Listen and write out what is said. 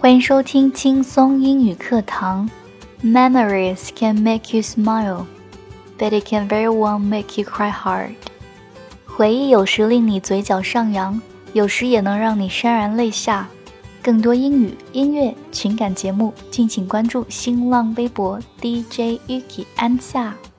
欢迎收听轻松英语课堂。Memories can make you smile, but it can very well make you cry hard. 回忆有时令你嘴角上扬，有时也能让你潸然泪下。更多英语、音乐、情感节目，敬请关注新浪微博 DJ Yuki 安夏。